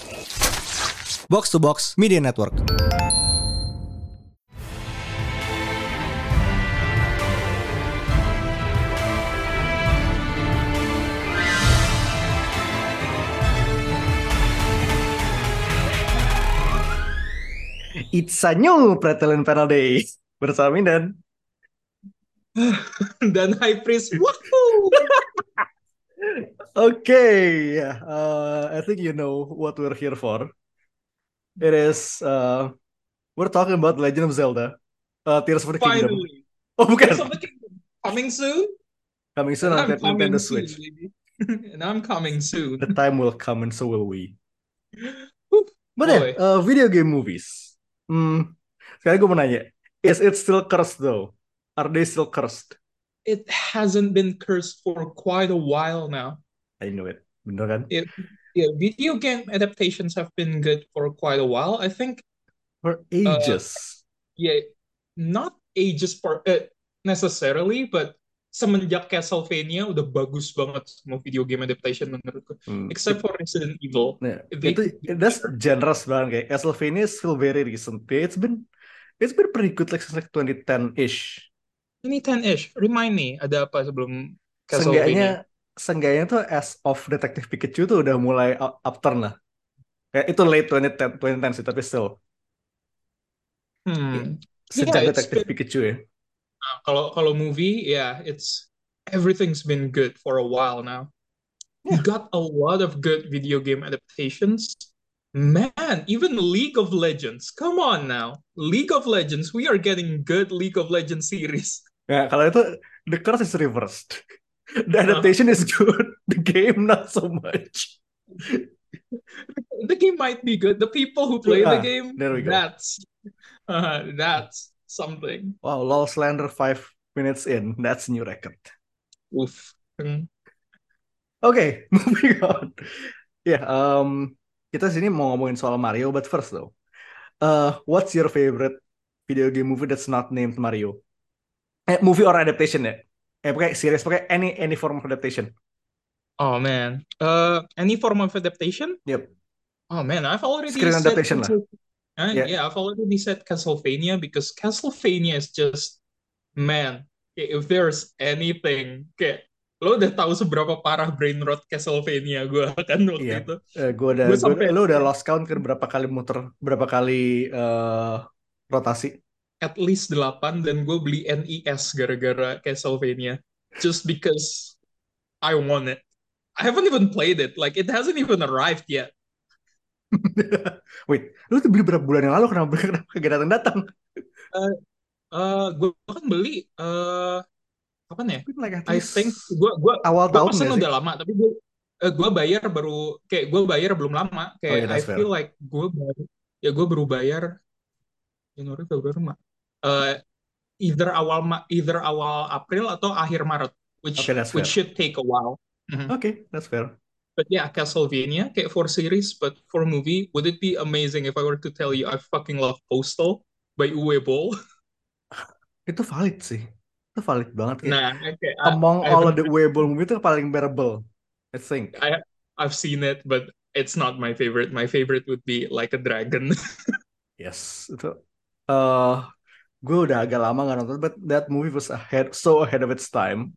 Box to Box Media Network. It's a new Pretelin Panel Day bersama Mindan. Dan High Priest. Woohoo! Okay, yeah. I think you know what we're here for. It is we're talking about Legend of Zelda, Tears of the Kingdom. Finally. Oh, Tears bukan. of the Kingdom. Coming soon? Coming soon And on I'm Nintendo coming soon, Switch. baby. And I'm coming soon. The time will come and so will we. Whew, But yeah, boy. video game movies. Sekarang gue mau nanya, is it still cursed though? Are they still cursed? It hasn't been cursed for quite a while now. I know it. Bener kan? Video game adaptations have been good for quite a while. I think, For uh, ages. yeah, not ages for necessarily, but semenjak Castlevania udah bagus banget semua video game adaptation menurutku. Except for Resident Evil. Nah, They itu could do that's better. generous banget kayak Castlevania is still very recent. It's been pretty good like since like 2010-ish. 2010-ish. Remind me, ada apa sebelum Castlevania? Seenggaknya seenggaknya tuh as of Detective Pikachu tuh udah mulai upturn lah. Kayak itu late 2010 sih tapi still Yeah, sejak it's Detective been Pikachu ya. kalau movie, yeah, it's everything's been good for a while now. We Yeah. got a lot of good video game adaptations. Man, even League of Legends. Come on now. League of Legends, we are getting good League of Legends series. Nah, kalau itu the curse is reversed. The Uh, adaptation is good, the game not so much. the game might be good. The people who play the Ah, game, there we go. that's something. Wow, LOL Slender 5 minutes in, that's new record. Oof. Oke, moving on. Ya, kita sini mau ngomongin soal Mario, but first though, what's your favorite video game movie that's not named Mario? Movie or adaptation ya? Pakai series, pakai any form of adaptation. Oh man. Any form of adaptation? Yep, Oh man, I've already screen said adaptation lah. Yeah, yeah, I've already said Castlevania because Castlevania is just man. If there's anything kayak lo udah tahu seberapa parah brain rot Castlevania gue kan iya. waktu itu. Gue Sampai lo udah lost count kan berapa kali muter, berapa kali rotasi. at least 8 dan gue beli NES gara-gara Castlevania just because I want it. I haven't even played it. Like it hasn't even arrived yet. Wait, lu tuh beli berapa bulan yang lalu kenapa kagak datang-datang? Gue kan beli kapan ya? Like at I least think awal gue tahun pesen gak sih? udah lama tapi gue bayar baru kayak gue bayar belum lama Oh kayak yeah, I that's feel fair. like gue baru bayar Januari Februari Maret. Eh, either awal April atau akhir Maret Okay, that's which fair. should take a while. Mhm. Okay, that's fair. But yeah, Castlevania kayak for series but for movie would it be amazing if I were to tell you I fucking love Postal by Uwe Boll? Itu valid sih. Itu valid banget kayak Nah, okay, among I all of haven't the Weibo movie itu paling bearable, I think. I've seen it, but it's not my favorite. My favorite would be Like a Dragon. Yes, itu gue udah agak lama nggak nonton, but that movie was so ahead of its time.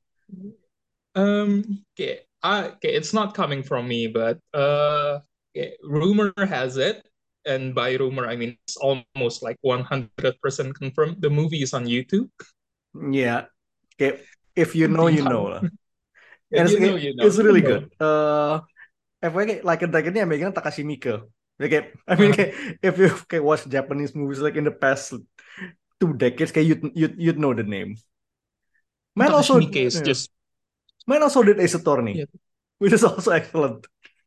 Okay, it's not coming from me, but okay, rumor has it, and by rumor I mean it's almost like 100% confirmed. The movie is on YouTube. Yeah, kayak if you know, you know lah. If And you know, you know. it's really good. FYI, like a Dragon ini yang megang Takashi Miike. Kayak, I mean, Uh, kayak, if you kayak watch Japanese movies like in the past 2 decades, kayak you'd know the name. Man Takashi also, Miike is yeah. just Man also did Ace Attorney, yeah. which is also excellent.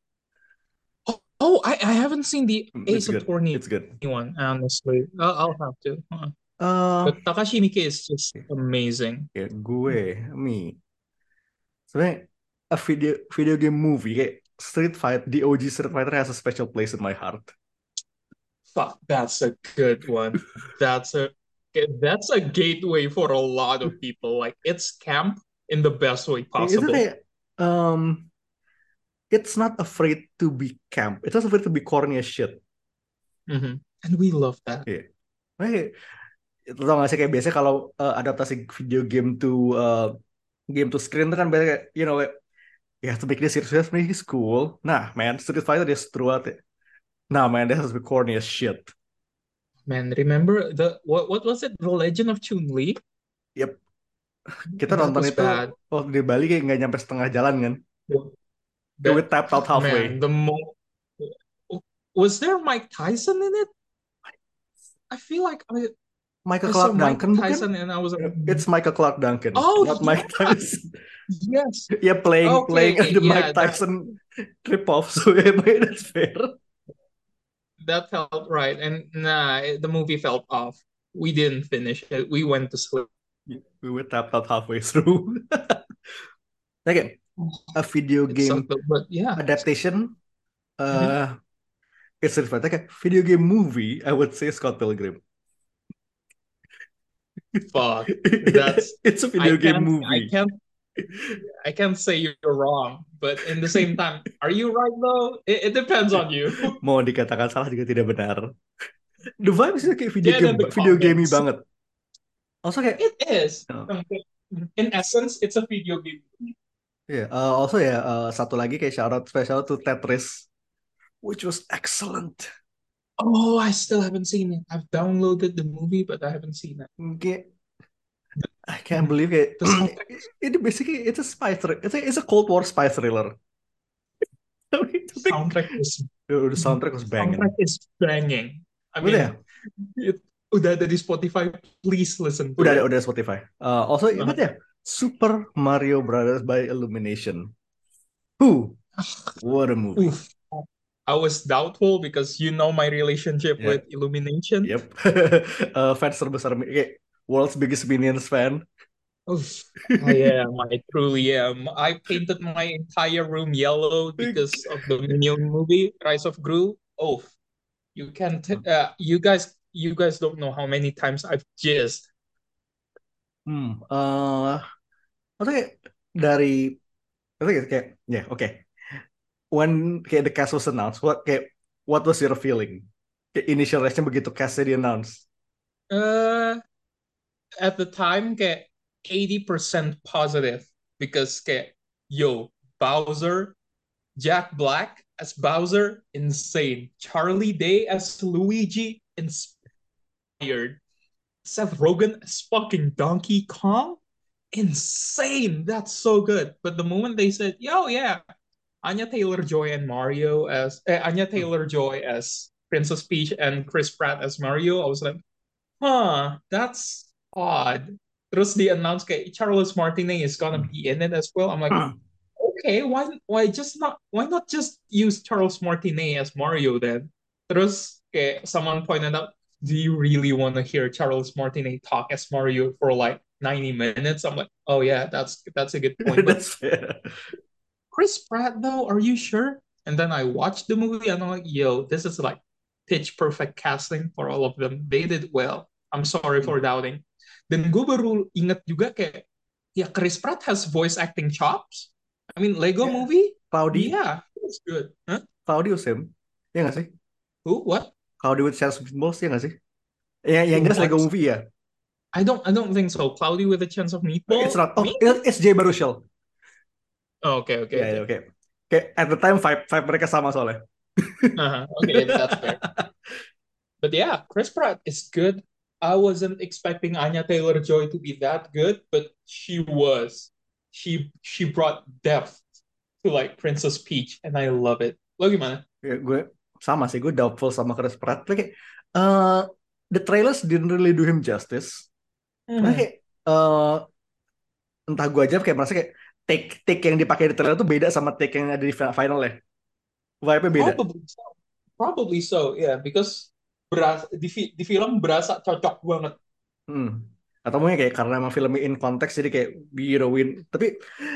I haven't seen the It's Ace good. Attorney It's good. one, honestly. I'll have to. Uh, But Takashi Miike is just amazing. kayak me. Sebenarnya a video game movie kayak the OG Street Fighter has a special place in my heart. Fuck, that's a good one. That's a that's a gateway for a lot of people. Like it's camp in the best way Itu possible. kayak um it's not afraid to be camp. It's not afraid to be corny as shit. Mhm. And we love that. Iya. Makanya, tau gak sih kayak biasanya kalau adaptasi video game to screen itu kan biasanya kayak, like, you have to make this serious, make this cool. Nah, man, Street Fighter is true at it. Nah, man, this has to be corny as shit. Man, remember what was it? The Legend of Chun-Li? Yep, kita That nonton was itu bad. waktu di Bali kayak nggak nyampe setengah jalan kan. We That tapped out halfway. man, was there Mike Tyson in it? I feel like Michael I saw Clark Mike Duncan bukan? Tyson and I was like, It's Michael Clark Duncan, oh not Mike yeah, Tyson. yes. Yeah, playing Okay, the yeah, Mike Tyson rip-off, so yeah, that's fair. that felt right. And nah, the movie felt off. We didn't finish it. We went to sleep. We were tapped out halfway through. Okay, a video It game sucked, but yeah. adaptation. Mhm. It's different. Like a video game movie, I would say Scott Pilgrim. Fuck. That's It's a I video game can't I movie. can't I can't say you're wrong, but in the same time, are you right though? It depends on you. Mau dikatakan salah juga tidak benar. The vibe is kayak Get in the video gamey comments. banget. Also kayak It is. uh, In essence, it's a video game. yeah, also ya satu lagi kayak shout out special to Tetris, which was excellent. Oh, I still haven't seen it. I've downloaded the movie, but I haven't seen it. Kayak, I can't believe it. The soundtrack, It basically it's a spy thriller. It's a Cold War spy thriller. Tapi the soundtrack was banging. soundtrack is banging. I Udah ya? mean, udah ada di Spotify. Please listen to Udah it. ada Spotify. Also ingat ya, Super Mario Brothers by Illumination. What a movie. Oof. I was doubtful because you know my relationship Yeah. with Illumination. Yep. Fans terbesar kayak world's biggest Minions fan. Oof. I am. I truly am. I painted my entire room yellow because of the Minion movie, Rise of Gru. Oh, you can't. You guys don't know how many times I've jizzed. Maksudnya dari kayak okay. When kayak the cast was announced, what was your feeling? Kayak initial reaction begitu castnya di announce? At the time, kayak 80% positive because kayak Bowser, Jack Black as Bowser, insane. Charlie Day as Luigi, inspired. Seth Rogen as fucking Donkey Kong, insane. That's so good. But the moment they said, Anya Taylor-Joy and Anya Taylor-Joy as Princess Peach and Chris Pratt as Mario, I was like, that's odd. Terus di announce kayak Charles Martinet is gonna be in it as well. I'm like, okay, why not just use Charles Martinet as Mario then? Terus kayak someone pointed out, do you really want to hear Charles Martinet talk as Mario for like 90 minutes? I'm like, oh yeah, that's a good point. But That's fair. Chris Pratt though, are you sure? And then I watched the movie and I'm like, this is like pitch perfect casting for all of them. They did well. I'm sorry for doubting. Dan gue baru inget juga kayak, Chris Pratt has voice acting chops. I mean, Lego movie? Cloudy? Yeah, it's good. Huh? Cloudy was him? Ya nggak sih? Who? What? Cloudy with Chance of Meatballs ya nggak sih? Yang jelas Lego movie ya? I don't think so. Cloudy with a Chance of Meatballs? It's not. It's Jay Baruchel. Oh, okay. Okay. At the time vibe mereka sama soalnya. Okay, that's fair. But yeah, Chris Pratt is good. I wasn't expecting Anya Taylor-Joy to be that good, but she was. She brought depth to like Princess Peach, and I love it. Lo gimana? Gue sama sih, gue doubtful sama Chris Pratt. Kayak, the trailers didn't really do him justice. Karena kayak, entah gue aja kayak merasa kayak take yang dipakai di trailer tuh beda sama take yang ada di final ya. Vibe-nya beda. Probably so, yeah, because di film berasa cocok banget. Atau mungkin kayak karena emang filmnya in konteks jadi kayak win. Tapi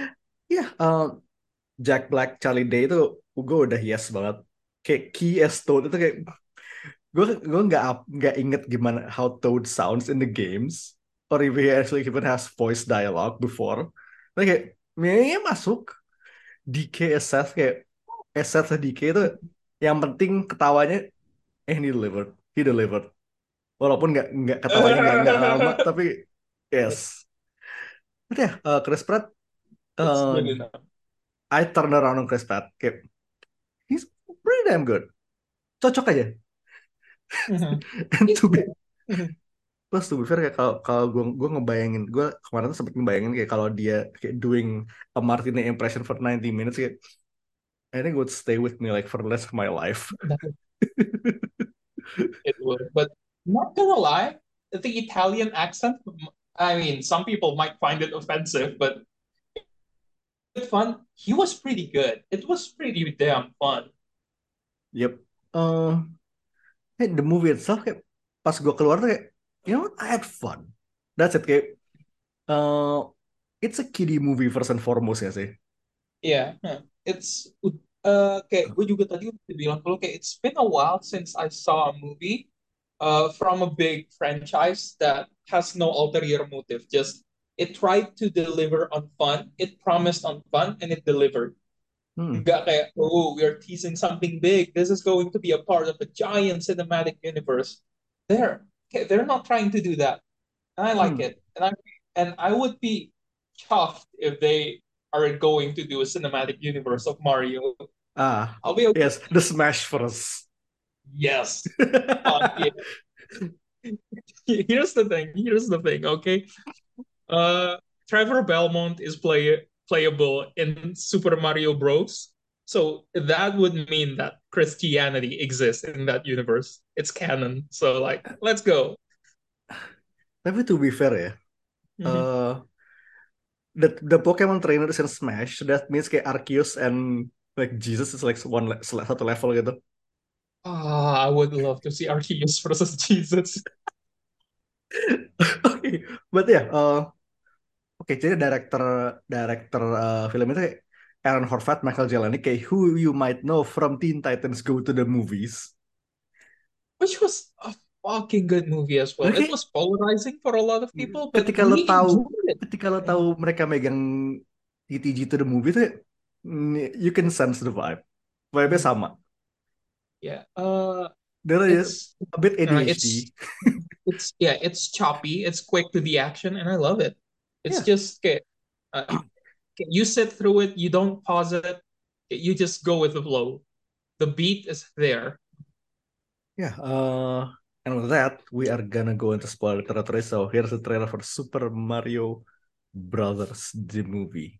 Jack Black, Charlie Day itu gue udah yes banget. Kayak Key as Toad itu kayak gue nggak inget gimana how Toad sounds in the games or if he actually even has voice dialogue before. Tapi kayak masuk DK as Seth kayak Eset sedikit itu yang penting ketawanya he delivered. Walaupun nggak ketawanya nggak lama tapi yes. But ya Chris Pratt It's uh, good enough. I turn around on Chris Pratt kayak he's pretty damn good. Cocok aja. Mhm. And It's to be good. Mhm. plus to be fair kayak kalau gue ngebayangin gue kemarin tuh sempet ngebayangin kayak kalau dia kayak doing a Martina impression for 90 minutes kayak I think it would stay with me like for the rest of my life. That- It would. But not gonna lie, the Italian accent, I mean, some people might find it offensive, but it's fun. He was pretty good. It was pretty damn fun. Yep. The movie itself kayak pas gue keluar tuh kayak you know what? I had fun. That's it kayak uh, it's a kiddie movie first and foremost ya sih. Yeah, huh. It's kayak gue juga tadi udah bilang dulu kayak it's been a while since I saw a movie from a big franchise that has no ulterior motive. Just it tried to deliver on fun, it promised on fun, and it delivered. Hmm. Nggak kayak, oh, we are teasing something big. This is going to be a part of a giant cinematic universe. They're not trying to do that. And I like Hmm. it. And I would be chuffed if they are going to do a cinematic universe of Mario. Ah, I'll be okay. yes, the Smash first. Yes. Yeah. Here's the thing. Here's the thing. Okay. Uh, Trevor Belmont is playable in Super Mario Bros. So that would mean that Christianity exists in that universe. It's canon. So like, let's go. Tapi to be fair ya, Mhm. uh, the Pokemon trainers in Smash that means kayak Arceus and like Jesus is like satu level gitu. Ah, I would love to see Arceus versus Jesus. Oke, but ya, oke, jadi director film itu kayak Aaron Horvath, Michael Jelenic, kayak who you might know from Teen Titans Go to the Movies. Which was a fucking good movie as well. It Oke, was polarizing for a lot of people, but ketika lo we tahu enjoyed it. ketika lo tahu mereka megang TTG to the movie tuh you can sense the vibe. Vibe-nya Mhm. sama. Yeah. They're just It's a bit uh, ADHD. it's it's choppy. It's quick to the action, and I love it. It's Yeah. just you sit through it. You don't pause it. You just go with the flow. The beat is there. Yeah, and with that, we are gonna go into spoiler territory. So here's the trailer for Super Mario Brothers, the movie.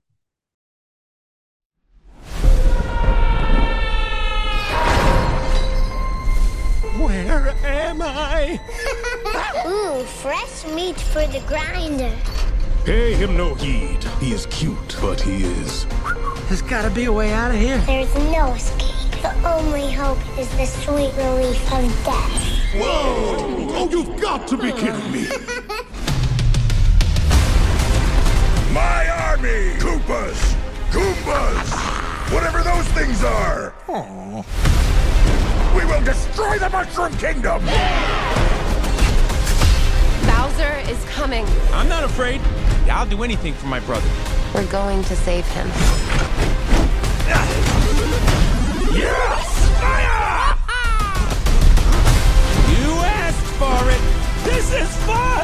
Where am I? Ooh, fresh meat for the grinder. Pay him no heed. He is cute, but he is. There's gotta be a way out of here. There's no escape. The only hope is the sweet relief of death. Whoa! Oh, you've got to be kidding me! My army! Koopas! Goombas! Whatever those things are! We will destroy the Mushroom Kingdom! Bowser is coming. I'm not afraid. I'll do anything for my brother. We're going to save him. Yes! Fire! You asked for it. This is fun.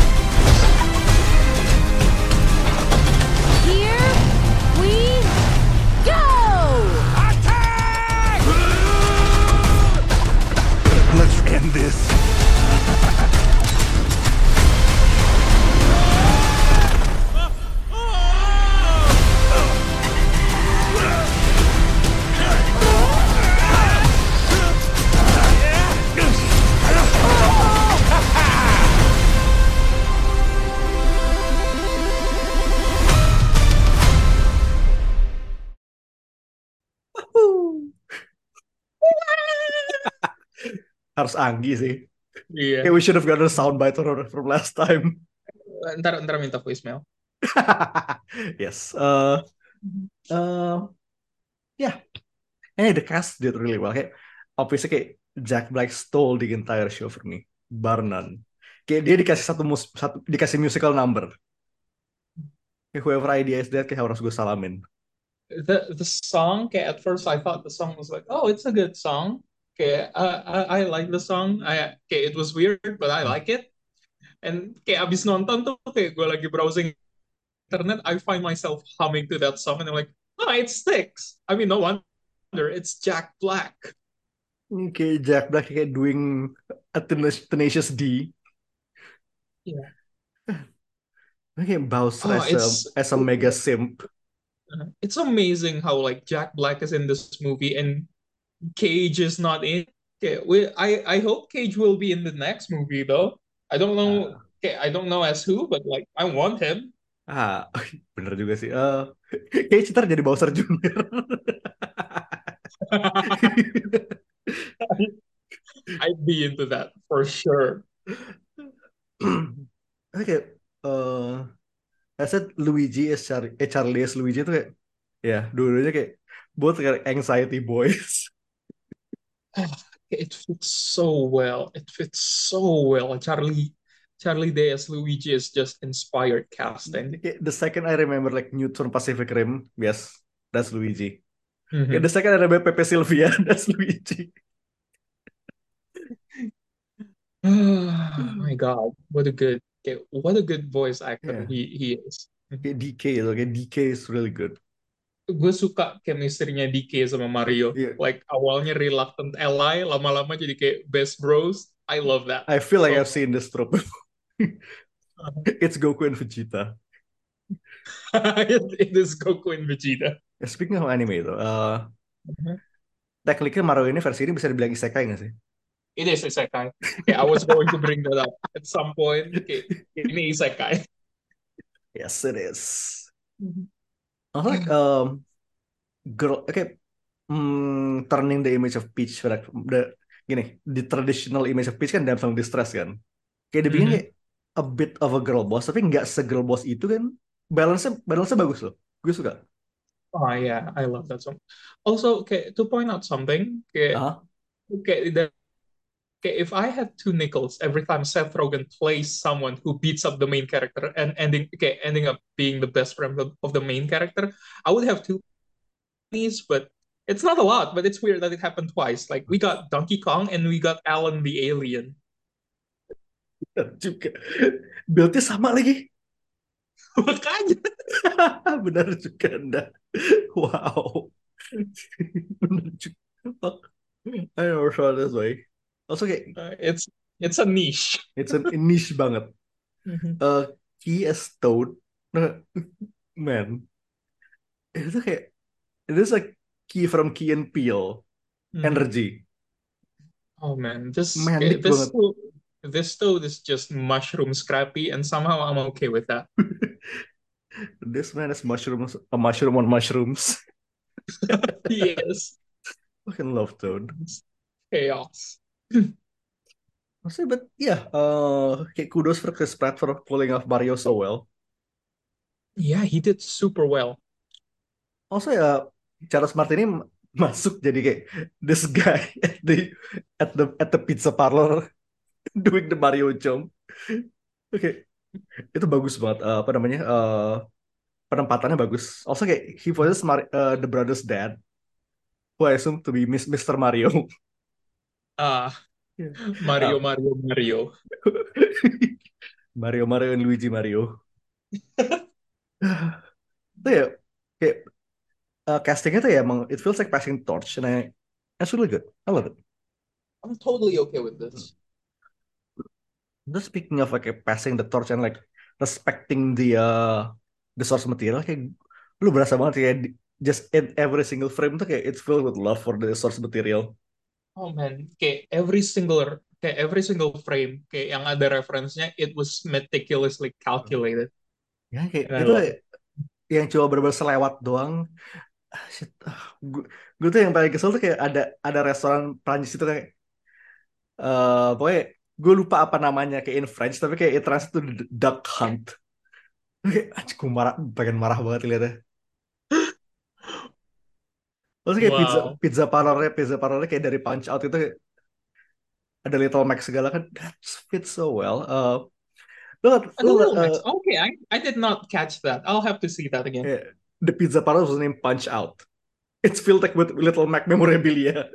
Here we go! Attack! Let's end this. Harus Anggi sih. Yeah. Okay, we should have gotten a soundbite from last time. Ntar minta voicemail. Yes. Yeah. The cast did really well. Kayak, obviously kayak Jack Black stole the entire show for me. Bar none. Kayak dia dikasih dikasih musical number. Kayak whoever idea is that kayak harus gue salamin. the song, kayak at first I thought the song was like, oh, it's a good song. Kayak I like the song. Kayak it was weird, but I like it. And kayak abis nonton tuh kayak gue lagi browsing internet, I find myself humming to that song, and I'm like, oh, it sticks. I mean, no wonder it's Jack Black. Kayak Jack Black kayak doing a Tenacious D. Yeah. Kayak Bowser Oh, as a mega simp. it's amazing how like Jack Black is in this movie and Cage is not in. Okay, I hope Cage will be in the next movie though. I don't know. Okay, I don't know as who, but like I want him. Bener juga sih. Kayak Citar jadi Bowser Junior. I'd be into that for sure. Kayak I said Luigi as Charlie as Luigi itu kayak ya dua-duanya kayak both kayak anxiety boys. It fits so well. It fits so well. Charlie Day as Luigi is just inspired casting. The second I remember like Newt from Pacific Rim, yes, that's Luigi. Mhm. The second I remember Pepe Sylvia, that's Luigi. Oh my God, what a good voice actor he is. Kayak DK itu, kayak DK is really good. Gue suka chemistry-nya DK sama Mario. Yeah. Like awalnya reluctant ally, lama-lama jadi kayak best bros. I love that. I feel like I've seen this trope. It's Goku and Vegeta. It is Goku and Vegeta. Speaking of anime itu, tekniknya Mario ini versi ini bisa dibilang isekai nggak sih? It is isekai. Okay, I was going to bring that up at some point. Okay, ini isekai. Yes, it is. Also, like, girl, okay, turning the image of Peach, like, the traditional image of Peach kan damsel in distress kan. Kayak dibikin kayak a bit of a girl boss, tapi nggak se-girl boss itu kan. Balance-nya bagus loh. Gue suka. Oh yeah, I love that song. Also, okay, to point out something, okay, if I had 2 nickels every time Seth Rogen plays someone who beats up the main character and ending up being the best friend of the main character, I would have 2 pennies, but it's not a lot, but it's weird that it happened twice. Like we got Donkey Kong and we got Alan the Alien. Juga. Build-nya sama lagi. Makanya. Benar juga Anda. Wow. Benar juga. I never saw this way. Also kayak it's a niche. It's a niche banget. Key as Toad, man. Itu kayak it is like Key from Key and Peele energy. Oh man, this Toad is just mushroom scrappy, and somehow I'm okay with that. This man is a mushroom on mushrooms. Yes. Fucking love Toad. Chaos. But yeah, kayak kudos for Chris Pratt for pulling off Mario so well. Yeah, he did super well. Also ya, Charles Martinet masuk jadi kayak this guy at the pizza parlor doing the Mario jump. Oke. Itu bagus banget. Apa namanya? Penempatannya bagus. Also kayak he voices the brother's dad, who I assume to be Mr. Mario. Mario. Mario and Luigi Mario. Itu ya kayak castingnya tuh ya emang it feels like passing torch, and that's really good. I love it. I'm totally okay with this. Just speaking of like passing the torch and like respecting the source material, kayak lu berasa banget kayak just in every single frame tuh kayak it's filled with love for the source material. Oh man, kayak every single frame kayak yang ada referensinya, it was meticulously calculated. Ya kayak itu yang coba bener-bener selewat doang. Shit. Gue tuh yang paling kesel tuh kayak ada restoran Prancis itu kayak pokoknya gue lupa apa namanya kayak in French, tapi kayak it translates to Duck Hunt. Kayak gue pengen marah banget liatnya. Terus kayak pizza parlornya kayak dari Punch Out itu kayak ada Little Mac segala kan, that fits so well. Okay, I did not catch that. I'll have to see that again. the pizza parlor was named Punch Out. It's filled like with Little Mac memorabilia.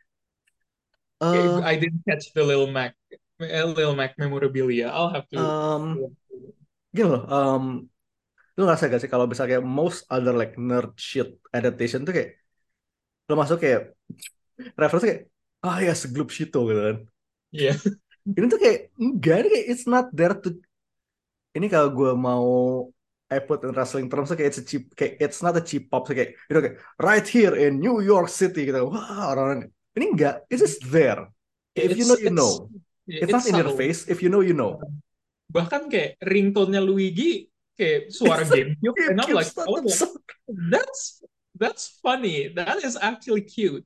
I didn't catch the Lil Mac memorabilia. I'll have to. Gini loh, lu ngerasa gak sih kalau misalnya kayak most other like nerd shit adaptation tuh kayak lo masuk kayak reference kayak ya seglup shito gitu kan. Iya. Ini tuh kayak enggak, ini kayak it's not there to, ini kalau gue mau I put in wrestling terms tuh kayak it's not a cheap pop, so kayak kayak right here in New York City gitu. Wah, orang ini enggak, it's just there. If you know, you know. It's not in your face. If you know, you know. Bahkan kayak ringtone-nya Luigi kayak suara GameCube, and I'm like, oh, that's funny. That is actually cute.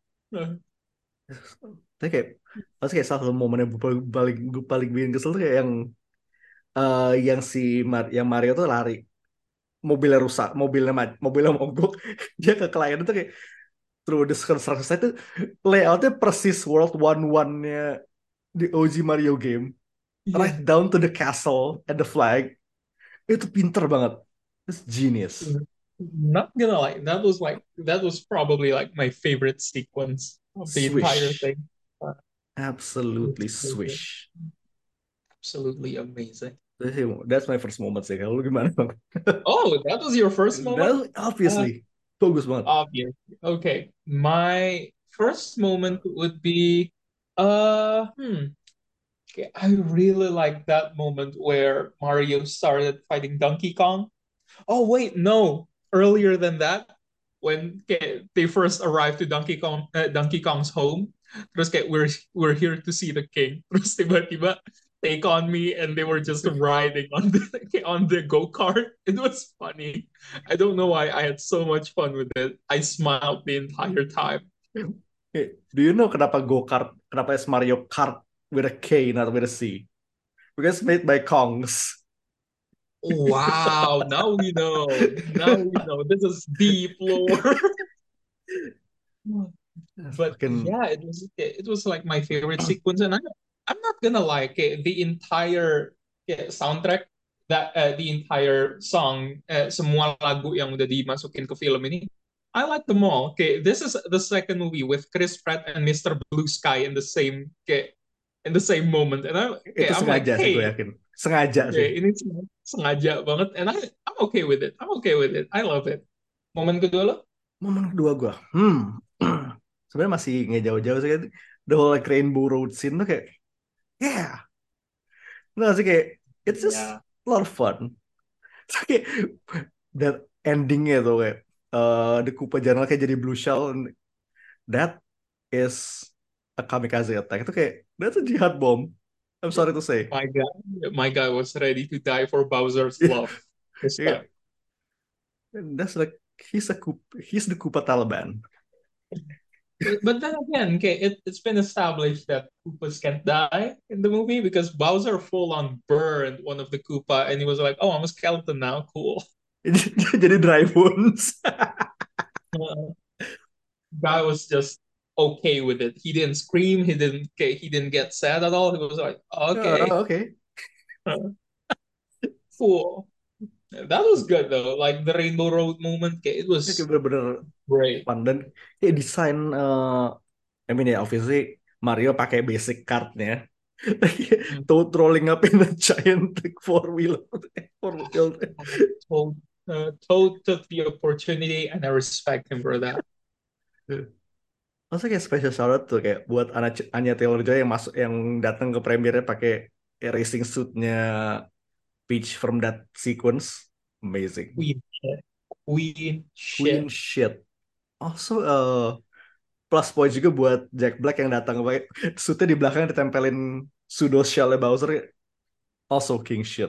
Tapi kayak pasti kayak salah satu momen yang paling bikin kesel tuh kayak yang yang Mario tuh lari, mobilnya rusak, mobilnya mogok, dia ke klien itu kayak through the construction site itu layoutnya persis World 1-1-nya di OG Mario game, right down to the castle and the flag. Itu pinter banget, it's genius. Not gonna lie, that was probably like my favorite sequence of the entire thing. Absolutely swish. Absolutely amazing. That's my first moment sih. Kalau lu gimana, Bang? Oh, that was your first moment? Obviously. Bagus banget. Obvious. Okay. My first moment would be okay, I really like that moment where Mario started fighting Donkey Kong. Oh wait, no. Earlier than that, when they first arrived to Donkey Kong's home, terus kayak we're here to see the king. Terus tiba-tiba take on me, and they were just riding on the go-kart. It was funny. I don't know why I had so much fun with it. I smiled the entire time. Do you know kenapa go-kart? Kenapa it's Mario Kart with a K, not with a C? Because it's made by Kongs. Wow, now we know. This is deep lore. But yeah, it was like my favorite sequence, and I'm not gonna lie, the entire soundtrack, the entire song, semua lagu yang udah dimasukin ke film ini, I like them all. This is the second movie with Chris Pratt and Mr. Blue Sky in the same moment, and I'm like, hey, gue yakin. Sengaja sih. Ini sengaja banget, and I'm okay with it. I love it. Momen kedua lo? Momen kedua gue, sebenarnya masih nggak jauh-jauh sih. The whole like Rainbow Road scene tuh kayak, nggak sih, kayak it's just a lot of fun. So, kayak that endingnya tuh kayak the Koopa General kayak jadi blue shell, and that is a kamikaze attack. Itu kayak that's a jihad bomb. I'm sorry to say. My guy was ready to die for Bowser's love. Yeah. That's like he's the Koopa Taliban. But then again, it's been established that Koopas can't die in the movie because Bowser full on burned one of the Koopa, and he was like, "Oh, I'm a skeleton now, cool." Jadi dry bones. Guy was just okay with it. He didn't scream. He didn't get sad at all. He was like, "Okay, okay." Cool. That was good though. Like the Rainbow Road moment, it was bener-bener great. Fun. Dan desain, I mean obviously Mario pakai basic cardnya, Toad rolling up in a giant like four-wheel. Toad took the opportunity, and I respect him for that. Masa kayak special shout tuh kayak buat Anya Taylor-Joy yang datang ke premiernya pakai racing suitnya Peach from that sequence. Amazing. Queen shit. Also plus point juga buat Jack Black yang datang pakai suitnya di belakang ditempelin pseudo shell Bowser. Also king shit.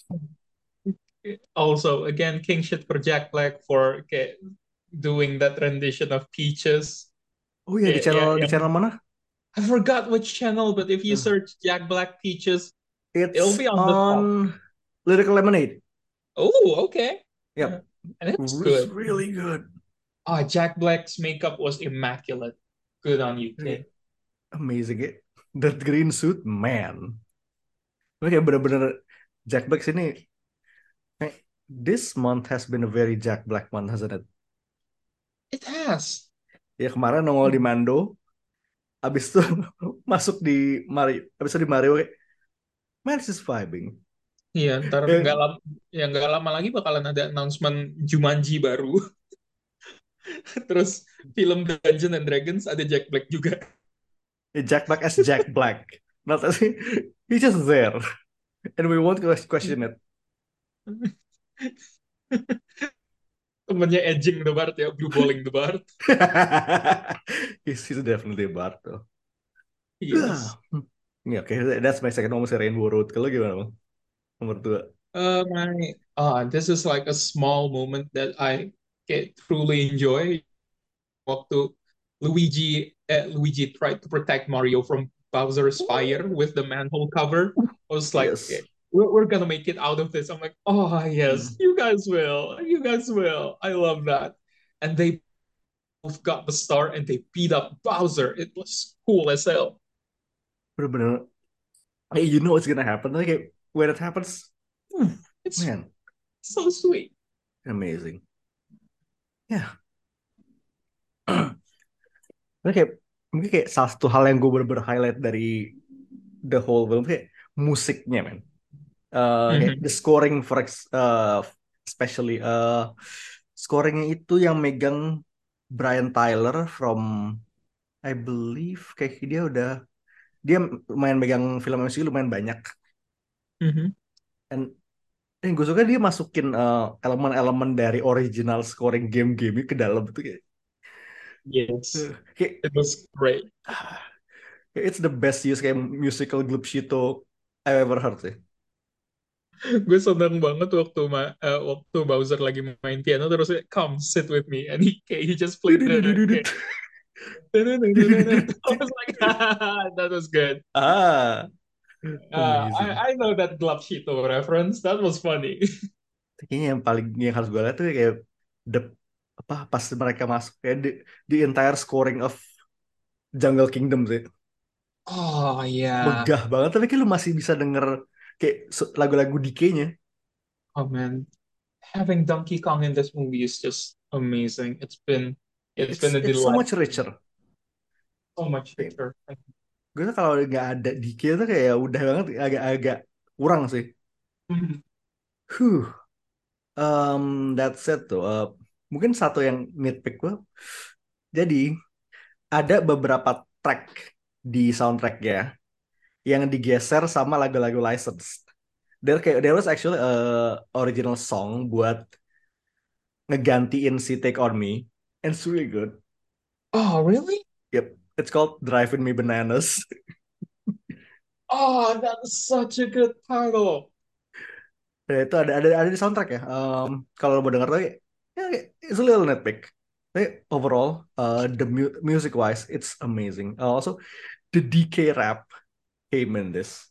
Also again king shit for Jack Black for doing that rendition of Peaches. Oh yeah, di channel mana? I forgot which channel, but if you search Jack Black Peaches, it'll be on the top. Lyrical Lemonade. Oh, okay. Yep. And it's good. Really good. Jack Black's makeup was immaculate. Good on you, kid. Amazing. That green suit, man. Kayak bener-bener Jack Black sini this month has been a very Jack Black month, hasn't it? It has. Ya kemarin nongol di Mando, abis itu masuk di Mario, abis itu di Mario, kayak, man, this is vibing. Iya, ntar Ya, nggak lama lagi bakalan ada announcement Jumanji baru. Terus film Dungeons and Dragons ada Jack Black juga. Jack Black as Jack Black, not as he's just there, and we won't question it. Temennya edging the Bard ya, blue balling the Bard. He's definitely a bard though. Yes. Yeah, okay, that's my second almost Rainbow Road. Kalau gimana bang? Nomor 2. This is like a small moment that I truly enjoy. Waktu Luigi tried to protect Mario from Bowser's fire with the manhole cover. I was like, Yes. okay, we're gonna make it out of this. I'm like, oh yes, you guys will. I love that. And they both got the star and they beat up Bowser. It was cool as hell. Bener-bener. Hey, you know what's gonna happen? Like when it happens, It's man, so sweet. amazing. Yeah. Mungkin kayak salah satu hal yang gue bener-bener highlight dari the whole film kayak musiknya, man. Kayak the scoring especially scoringnya itu yang megang Brian Tyler from I believe kayak dia lumayan megang film MCU lumayan banyak. And gue suka dia masukin elemen-elemen dari original scoring game-game ke dalam itu kayak Yes, kayak it was great. it's the best use kayak musical glupshito I've ever heard sih. Gue seneng banget waktu Bowser lagi main piano terus come sit with me and he just played the I was like that was good. Amazing. I know that Glapshito reference, that was funny. Kayaknya yang harus gue lihat tuh kayak pas mereka masuk kayak the entire scoring of Jungle Kingdom sih. Oh yeah. Megah banget tapi kayak lu masih bisa denger kayak lagu-lagu DK-nya. Oh man, having Donkey Kong in this movie is just amazing. It's been a delight. It's so much richer. So much richer. Gue tuh kalau nggak ada DK tuh kayak udah banget agak-agak kurang sih. That's it tuh. Mungkin satu yang nitpick gue. Jadi ada beberapa track di soundtrack ya yang digeser sama lagu-lagu licensed. There was actually original song buat ngegantiin si Take On Me, and it's really good. Oh really? Yep, it's called Driving Me Bananas. Oh, that is such a good title. Itu ada di soundtrack ya. Kalau mau denger lagi, it's a little nitpick. Tapi overall, the music wise, it's amazing. Also, the DK rap came in this.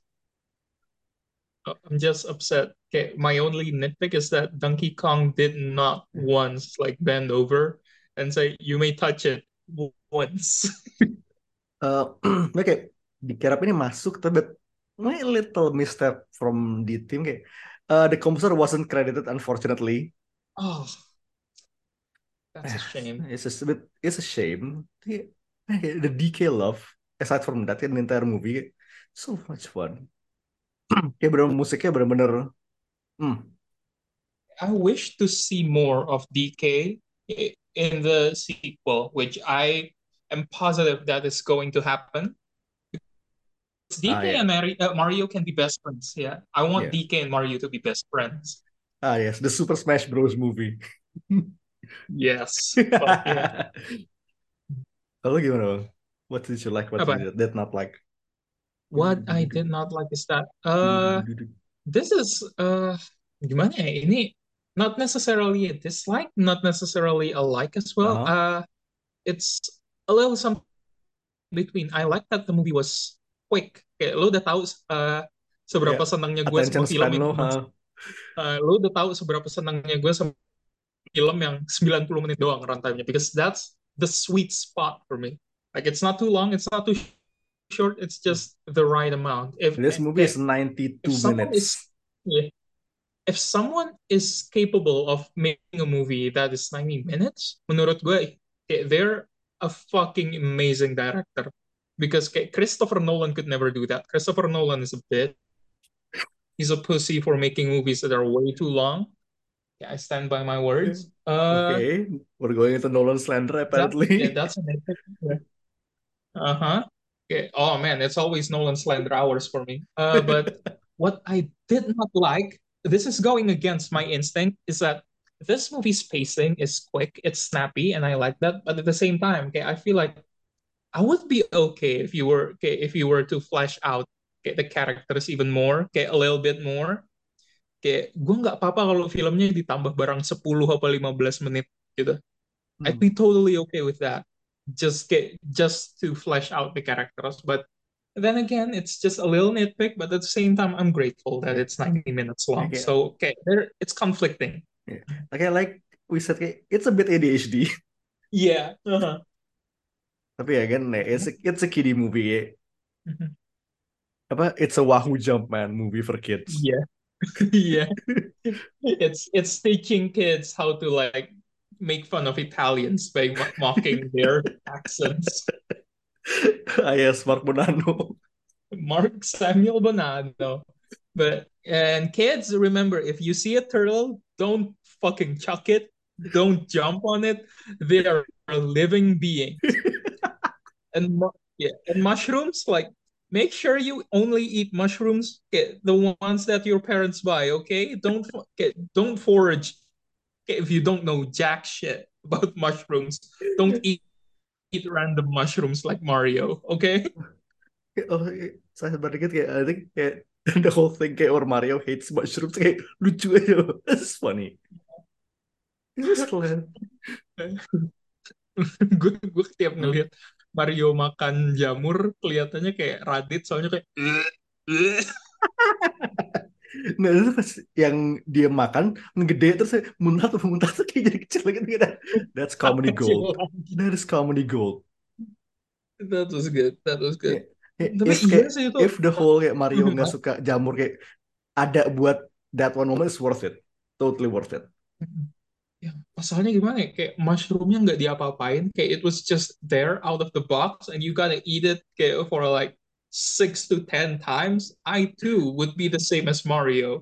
I'm just upset. Okay, my only nitpick is that Donkey Kong did not once like bend over and say, "You may touch it once." Kayak DK rap ini masuk, tapi a little misstep from the team kayak. The composer wasn't credited, unfortunately. Oh, that's a shame. It's a shame. The DK love, aside from that, in the entire movie, so much fun. Kayak bener musiknya bener-bener. I wish to see more of DK in the sequel, which I am positive that is going to happen. DK and Mario can be best friends. Yeah, I want DK and Mario to be best friends. Yes, the Super Smash Bros. Movie. Yes. Kalau gimana bang? What did you like? What you did not like? What I did not like is that this is gimana ya? Ini not necessarily a dislike, not necessarily a like as well. It's a little something between. I like that the movie was quick. Kayak lo udah tahu seberapa senangnya gue sama film itu. Lo udah tahu seberapa senangnya gue sama film yang 90 menit doang runtime-nya, because that's the sweet spot for me. Like it's not too long, it's not too short, it's just the right amount. This movie is 92 minutes. if someone is capable of making a movie that is 90 minutes, menurut gue, they're a fucking amazing director. Because Christopher Nolan could never do that. Christopher Nolan is a bitch. He's a pussy for making movies that are way too long. Yeah, I stand by my words. Okay, we're going into Nolan slander apparently. That's an epic. Uh-huh. Okay. Oh man, it's always Nolan slander hours for me. But what I did not like, this is going against my instinct, is that this movie's pacing is quick, it's snappy, and I like that. But at the same time, I feel like I would be okay if you were to flesh out the characters even more, a little bit more. Gue nggak apa-apa kalau filmnya ditambah barang 10 apa 15 menit gitu. I'd be totally okay with that. Just to flesh out the characters. But then again, it's just a little nitpick, but at the same time, I'm grateful that it's 90 minutes long. Okay. So it's conflicting. Yeah. Okay, like we said, it's a bit ADHD. Yeah. Uh-huh. Tapi again, it's a kiddie movie. Mhm. It's a Wahoo Jump Man movie for kids. Yeah. Yeah. It's teaching kids how to like make fun of Italians by mocking their accents. Yes, Mark Bonanno. Mark Samuel Bonanno. And kids, remember, if you see a turtle, don't fucking chuck it. Don't jump on it. They are living beings. and mushrooms, like, make sure you only eat mushrooms, the ones that your parents buy, okay? Don't forage. If you don't know jack shit about mushrooms, don't eat random mushrooms like Mario, okay? Oh, saya dikit I think the whole thing or Mario hates mushrooms lucu aja. It's funny. It's just gue tiap ngeliat Mario makan jamur kelihatannya kayak Radit, soalnya kayak nah itu pas yang dia makan ngegede terus muntah tuh kayak jadi kecil gitu. That's comedy gold. That is comedy gold. That was good. If the whole kayak Mario nggak suka jamur kayak ada buat that one moment is worth it. Totally worth it. Ya, pasalnya gimana ya? Kayak mushroomnya nggak diapa-apain, kayak it was just there out of the box and you gotta eat it kayak for like 6 to 10 times. I too would be the same as Mario.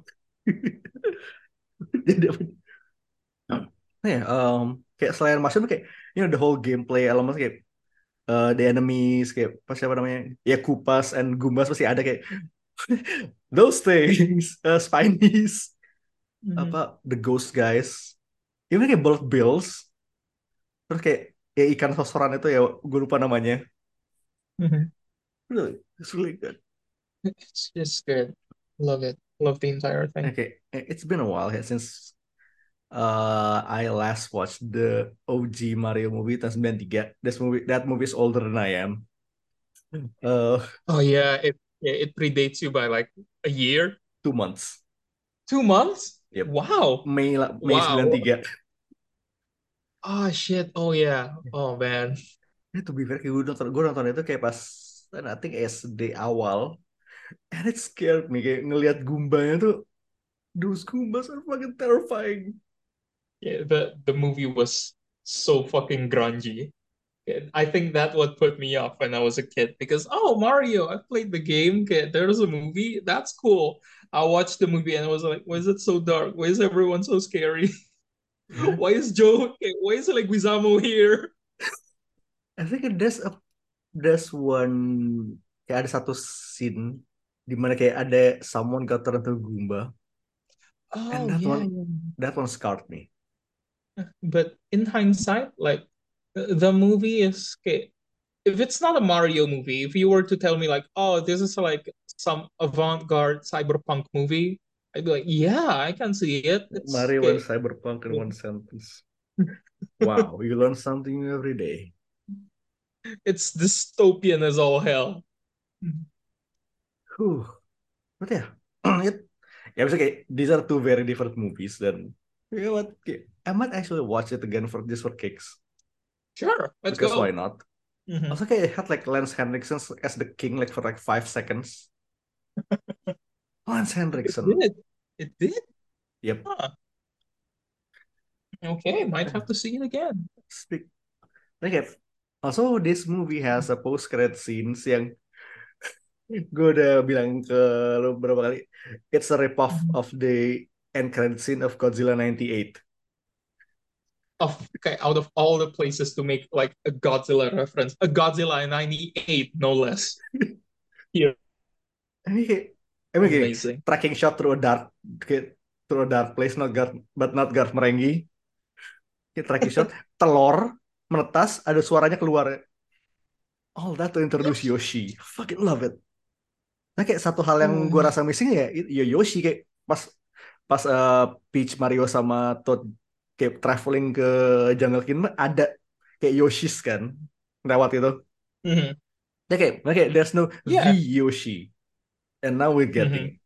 Kayak selain mushroom kayak the whole gameplay elements kayak the enemies kayak siapa namanya ya Koopas and Goombas pasti ada kayak those things, Spinies, the ghost guys. Even kayak bullet bills, terus kayak ikan sosoran itu ya gue lupa namanya. Really, it's really good. It's just good. Love it. Love the entire thing. Okay, it's been a while since I last watched the OG Mario movie tahun 93. That movie is older than I am. Oh yeah, it predates you by like a year. 2 months. 2 months? Yep. Wow. May 93. Oh shit. Oh yeah. Oh man. To be fair, gue nonton itu kayak pas I think SD awal, and it scared me kayak ngelihat Goombanya tuh, those Goombas are fucking terrifying. Yeah, the movie was so fucking grungy. I think that what put me off when I was a kid, because Mario, I played the game. There's a movie, that's cool. I watched the movie and I was like, why is it so dark? Why is everyone so scary? Why is Leguizamo here? I think there's one kayak ada satu scene di mana kayak ada someone got turned into Goomba. And that one scarred me. But in hindsight, like, the movie is okay. If it's not a Mario movie, if you were to tell me like, oh, this is like some avant-garde cyberpunk movie, I'd be like, yeah, I can see it. It's Mario and cyberpunk in one sentence. Wow, you learn something new every day. It's dystopian as all hell. But yeah, kayak these are two very different movies. Then you know what? I might actually watch it again for kicks. Sure, let's because go. Why not? Also, kayak it had like Lance Henriksen as the king, like for like 5 seconds. Lance Henriksen. It did. Yep. Okay, might have to see it again. Speak. Okay. Also, this movie has a post-credit scenes yang gue udah bilang ke lo berapa kali. It's a rip-off of the end credit scene of Godzilla 98. Okay, out of all the places to make like a Godzilla reference, a Godzilla 98, no less. Here, I mean, kayak amazing. tracking shot through a dark place, but not Garth Marenghi. Kayak tracking shot, telur menetas, ada suaranya keluar. All that to introduce Yoshi. Fucking love it. Nah, kayak satu hal yang gue rasa missing ya Yoshi, kayak pas Peach, Mario sama Toad kayak traveling ke Jungle Kingdom ada kayak Yoshis kan lewat itu. Ya kayak there's no the Yoshi, and now we're getting.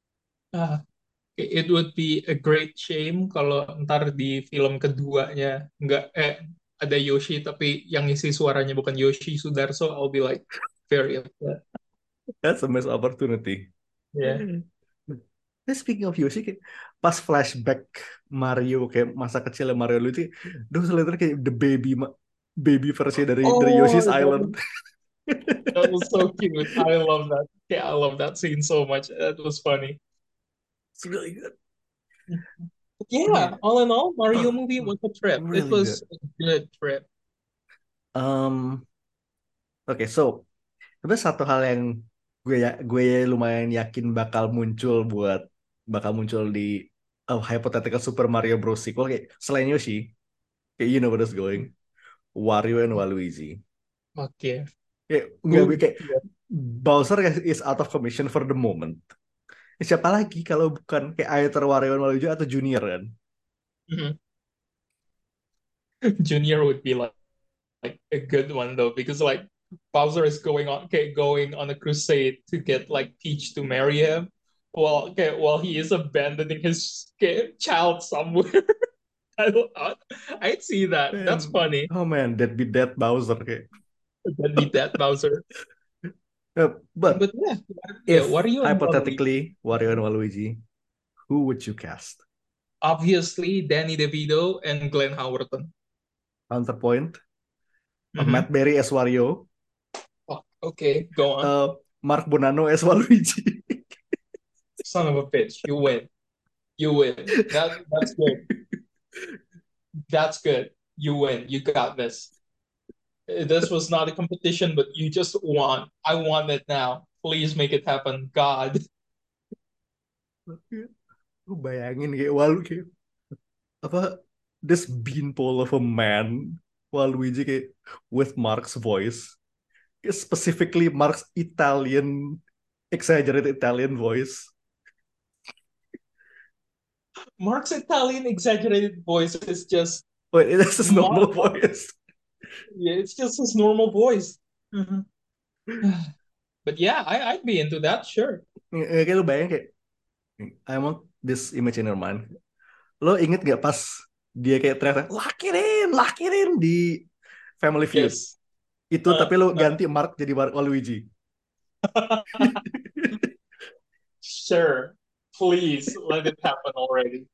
It would be a great shame kalau ntar di film keduanya nggak ada Yoshi tapi yang isi suaranya bukan Yoshi Sudarso. I'll be like very upset. That's a missed opportunity. Yeah. Speaking of Yoshi, kayak pas flashback Mario kayak masa kecil Mario lu itu, those literally kayak the baby versi dari Yoshi's Island. That was so cute. I love that. Yeah, I love that scene so much. That was funny. It's really good. Yeah, all in all, Mario movie was a trip. Really It was a good trip. Okay, so tapi satu hal yang gue lumayan yakin bakal muncul di hypothetical Super Mario Bros. Sequel kayak selain Yoshi, kayak you know where it's going, Wario and Waluigi. Okay. Kayak Bowser is out of commission for the moment. Siapa lagi kalau bukan kayak either Wario and Waluigi atau Junior kan? Junior would be like a good one though, because like Bowser is going on a crusade to get like Peach to marry him, while he is abandoning his child somewhere. I'd see that. Man. That's funny. Oh man, that'd be that Bowser. That'd be that Bowser. But yeah, Wario hypothetically Wario and Waluigi, who would you cast? Obviously, Danny DeVito and Glenn Howerton. Counterpoint. Matt Berry as Wario. Oh, okay, go on. Mark Bonanno as Waluigi. Son of a bitch, you win. That's good. That's good. You win. You got this. This was not a competition, but you just won. I want it now. Please make it happen, God. Lu bayangin kayak Waluigi apa this beanpole of a man, Waluigi kayak with Mark's voice, specifically Mark's exaggerated Italian voice. Mark's Italian exaggerated voice is just it's his normal voice. Yeah, it's just his normal voice. But yeah, I'd be into that, sure. Kayak lu bayangin kayak I want this image in your mind. Lo inget gak pas dia kayak teriak lakirin di Family Feud? Yes. Itu tapi lo ganti Mark jadi Waluigi. Sure. Please let it happen already.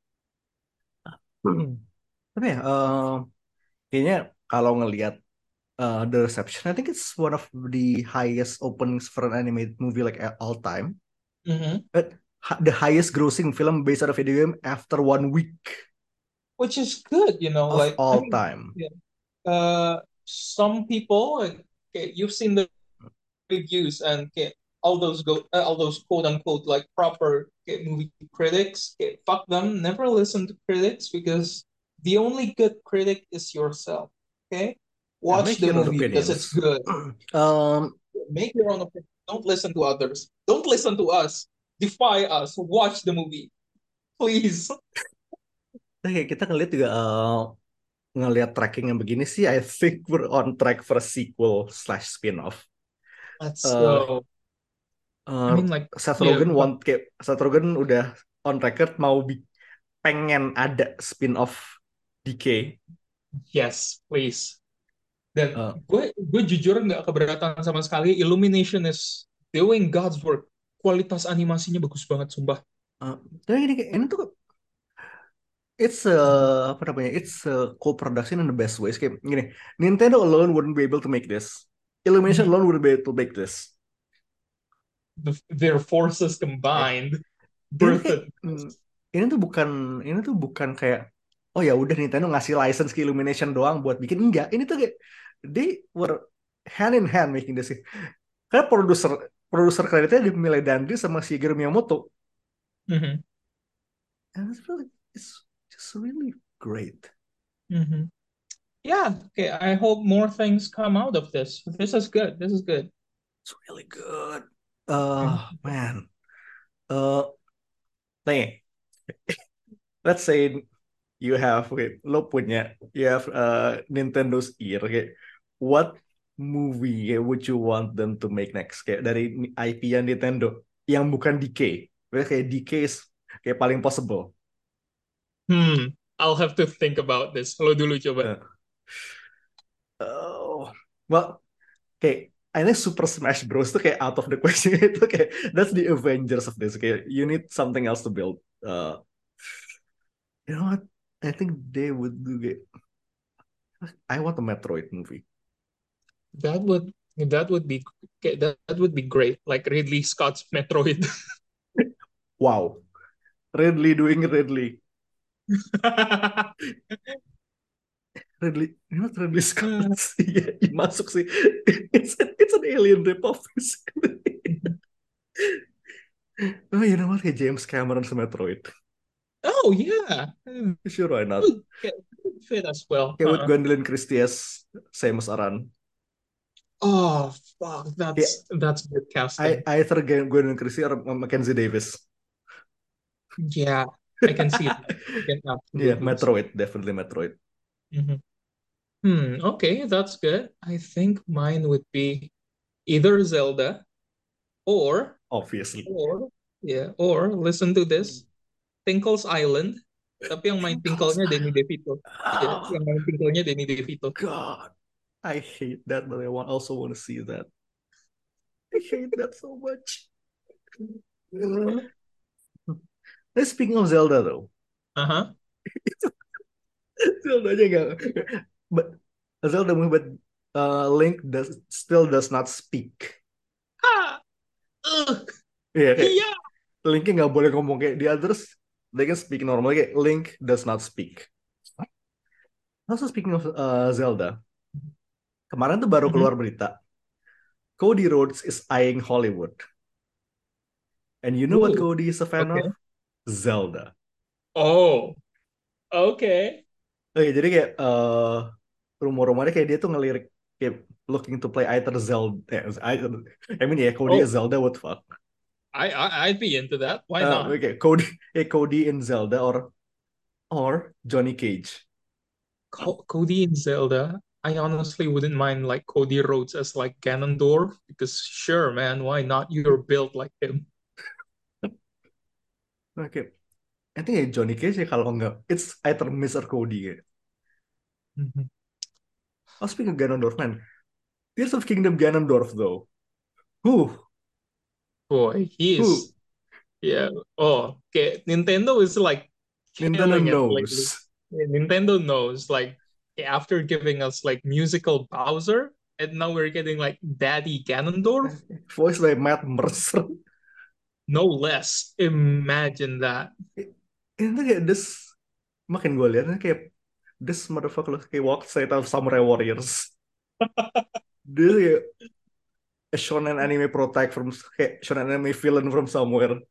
Tapi ya, kayaknya kalau ngelihat the reception, I think it's one of the highest openings for an animated movie like all time. The highest grossing film based on a video game after 1 week, which is good, you know, of like all time. Yeah. Some people, you've seen the reviews, and all those quote unquote like proper movie critics, fuck them. Never listen to critics, because the only good critic is yourself. Okay, watch the movie because it's good. Make your own opinion. Don't listen to others. Don't listen to us. Defy us. Watch the movie, please. Kita ngeliat juga ngeliat tracking yang begini sih, I think we're on track for a sequel / spin-off. Let's go. I mean, like Seth Rogen udah on record mau pengen ada spin-off DK. Yes, please. Dan gue jujur nggak keberatan sama sekali. Illumination is doing God's work. Kualitas animasinya bagus banget, sumpah. Tapi ini tuh it's apa namanya? It's a co-production in the best ways. Kayak gini, Nintendo alone wouldn't be able to make this. Illumination alone wouldn't be able to make this. Their forces combined Ini kayak, birthed. ini tuh bukan kayak oh ya udah Nintendo ngasih license ke Illumination doang buat bikin, enggak. Ini tuh kayak they were hand in hand making this. Karena produser kreditnya di Millie Dundee sama Shigeru Miyamoto. Mhm. And it's just really great. Mhm. Yeah, okay. I hope more things come out of this. This is good. This is good. It's really good. Man. Nih, let's say you have you have Nintendo's ear. Okay, what movie would you want them to make next? Kayak dari IP-nya Nintendo yang bukan DK. Kayak DK is kayak paling possible. I'll have to think about this. Lo dulu coba. Well, kayak I think Super Smash Bros tuh kayak out of the question. Itu kayak that's the Avengers of this. Kayak you need something else to build. You know what? I think they would do it. I want a Metroid movie. That would be that would be great. Like Ridley Scott's Metroid. Wow. Ridley doing Ridley. Ridley, you know what Ridley Scott? Yeah, masuk sih. It's an alien ripoff. Oh, you know what? Hey, James Cameron's Metroid. Oh yeah, Sure, why not? Could fit as well. Okay, with Gwendolyn Christie as Samus Aran. Oh fuck, that's good casting. I either Gwendolyn Christie or Mackenzie Davis. Yeah, I can see it. Yeah, Metroid, definitely Metroid. Okay, that's good. I think mine would be either Zelda or obviously or listen to this, Tinkle's Island. Tapi yang main Tinkle-nya Danny DeVito. Yeah, yang main Tinkle-nya Danny DeVito. God, I hate that, but I also want to see that. I hate that so much. Speaking of Zelda though. Zelda aja gak. But Zelda movie, but Link still does not speak. Yeah, Linknya nggak boleh ngomong kayak the others. They can speak normally. Kayak Link does not speak. Also speaking of Zelda, kemarin tuh baru keluar berita. Cody Rhodes is eyeing Hollywood. And you know what Cody is a fan of? Zelda. Oh, okay. Oke, jadi kayak rumor-rumornya kayak dia tuh ngelirik kayak looking to play either Zelda. Cody as Zelda would fuck. I'd be into that. Why not? Okay, Cody in Zelda or Johnny Cage. Cody in Zelda. I honestly wouldn't mind like Cody Rhodes as like Ganondorf because sure, man, why not? You're built like him. Okay, I think Johnny Cage ya kalau nggak, it's either Miss or Cody. Oh, speaking of Ganondorf, man, Tears of Kingdom Ganondorf though. Boy, he is. Yeah. Oh, okay. Nintendo is like Nintendo knows. Nintendo knows. Like after giving us like musical Bowser, and now we're getting like Daddy Ganondorf, voiced by Matt Mercer. No less. Imagine that. Ini kayak this, makin gue liatnya kayak this motherfucker kayak walk straight out of Samurai Warriors. Dia kayak a shonen anime protag from kayak shonen anime villain from somewhere.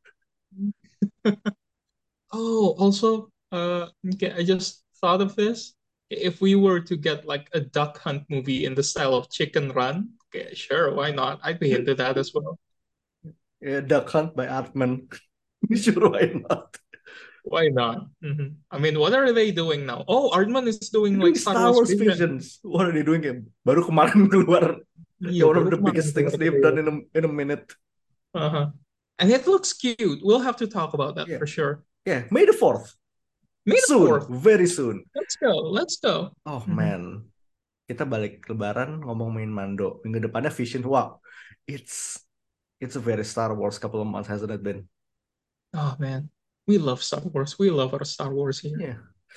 Oh, also, okay, I just thought of this. If we were to get like a Duck Hunt movie in the style of Chicken Run, okay, sure, why not? I'd be into that as well. Yeah, Duck Hunt by Artman. Sure, why not? Why not? I mean, what are they doing now? Oh, Artman is doing like Star Wars Visions. What are they doing? Baru kemarin keluar. One of the biggest things they've done in a minute. And it looks cute. We'll have to talk about that for sure. Yeah, May the 4th. Very soon. Let's go. Oh man, kita balik Lebaran ngomong main Mando. Minggu depannya Vision. Wow, it's a very Star Wars couple of months, hasn't it been? Oh man, we love Star Wars. We love our Star Wars here. Yeah,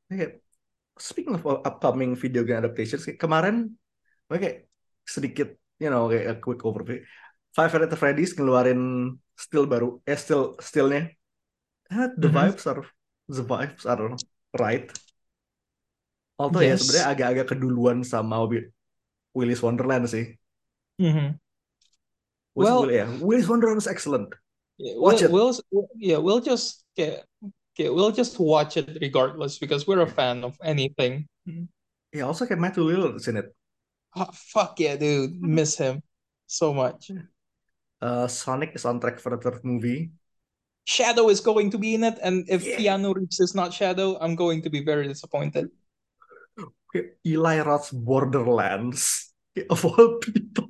Kayak, speaking of upcoming video game adaptations, kayak kemarin kayak sedikit, kayak a quick overview. Five Nights at Freddy's ngeluarin still baru, stillnya. The Mhm. vibes are right. Although ya Yes. sebenarnya agak-agak keduluan sama Willy's Wonderland sih. Mhm. Well, Willy's Wonderland is excellent. yeah, Watch it. we'll just we'll just watch it regardless because we're a fan of anything. Yeah, also kayak Matthew Lillard's in it. Oh, fuck yeah, dude. Miss him so much. Sonic is on track for a third movie. Shadow is going to be in it, and if Yeah. Keanu Reeves is not Shadow, I'm going to be very disappointed. Kayak Eli Roth's Borderlands. Kayak of all people.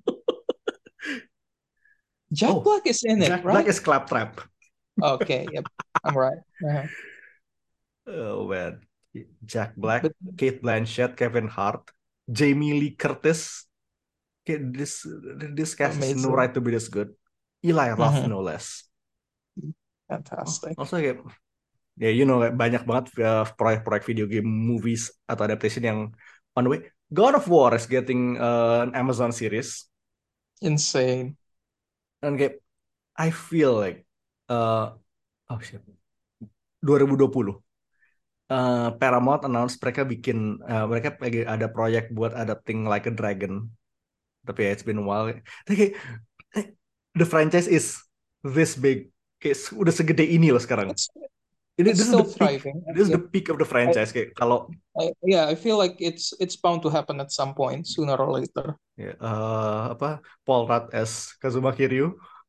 Jack Black is in it, Jack right? Black is Claptrap. Okay, yep, I'm right. Uh-huh. Oh man. Jack Black, But Kate Blanchett, Kevin Hart, Jamie Lee Curtis. Kayak this cast is no amazing. right to be this good. Eli Roth, Mhm. no less. Fantastic. Also kayak kayak banyak banget proyek-proyek video game movies atau adaptation yang on the way. God of War is getting an Amazon series, Insane. dan kayak I feel like oh shit 2020 Paramount announce mereka lagi ada proyek buat adapting Like a Dragon, tapi ya it's been a while. Tapi kayak the franchise is this big, kayak udah segede ini loh sekarang. It's This is still the peak. thriving. This is Yeah. the peak of the franchise. Kayak kalau I feel like it's bound to happen at some point, sooner or later. Paul Rudd as Kazuma Kiryu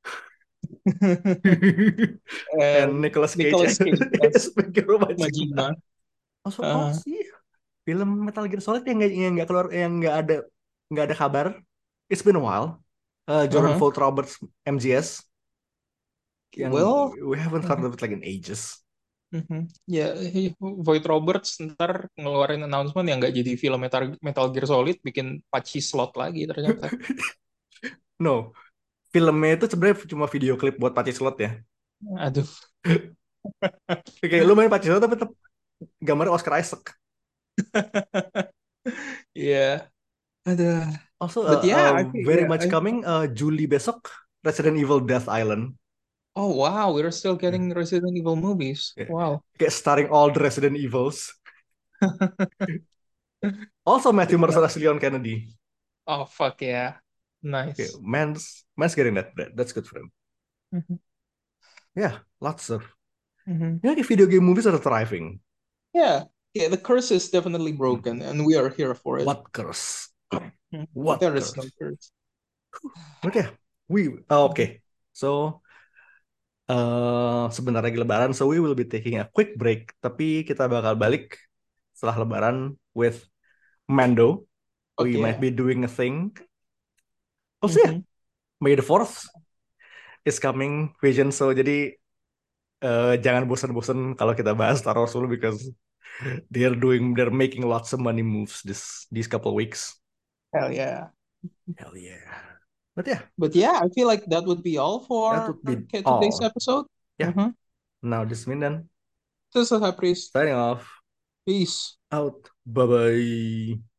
and Nicolas Cage Nicolas Cage as as Meguro Majima. Majima. Also, Uh-huh. sih film Metal Gear Solid yang nggak keluar, yang nggak ada kabar. It's been a while. Jordan Uh-huh. Vogt Roberts MGS yang Well, we haven't heard of it like in ages. ya, Void Roberts ntar ngeluarin announcement yang nggak jadi film Metal Gear Solid, bikin patchy slot lagi ternyata. No, filmnya itu sebenarnya cuma video klip buat patchy slot ya. Aduh. Kayak lu main patchy slot tapi tetap gambarnya Oscar Isaac. Iya. Aduh. Also, But yeah, I think very much coming. Juli besok, Resident Evil Death Island. Oh wow, we're still getting Resident Evil movies. Yeah. Wow. Kayak starring all the Resident Evils. Also Matthew Mercer as Leon Kennedy. Oh fuck yeah. Nice. Okay, man's getting that. That's good for him. Mhm. Yeah, lots of. Mhm. Kayak video game movies are thriving. Yeah, the curse is definitely broken, and we are here for it. What curse? Mhm. What There is curse? no curse. Okay, okay. So, sebentar lagi Lebaran, so we will be taking a quick break. Tapi kita bakal balik setelah Lebaran with Mando. We Okay. might be doing a thing. Also, yeah, May the 4th is coming, Vision. So, jadi jangan bosan-bosan kalau kita bahas Star Wars dulu, because they're making lots of money moves these couple weeks. Hell yeah. Hell yeah. But yeah, I feel like that would be all for That would be today's all. episode. Yeah. Mhm. Now this is Mindan This is High Priest. signing off. Peace. Out. Bye bye.